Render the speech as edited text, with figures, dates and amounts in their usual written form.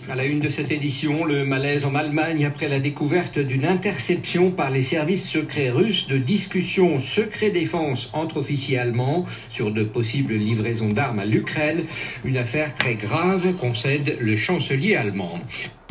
À la une de cette édition, le malaise en Allemagne après la découverte d'une interception par les services secrets russes de discussions secret défense entre officiers allemands sur de possibles livraisons d'armes à l'Ukraine. Une affaire très grave, concède le chancelier allemand.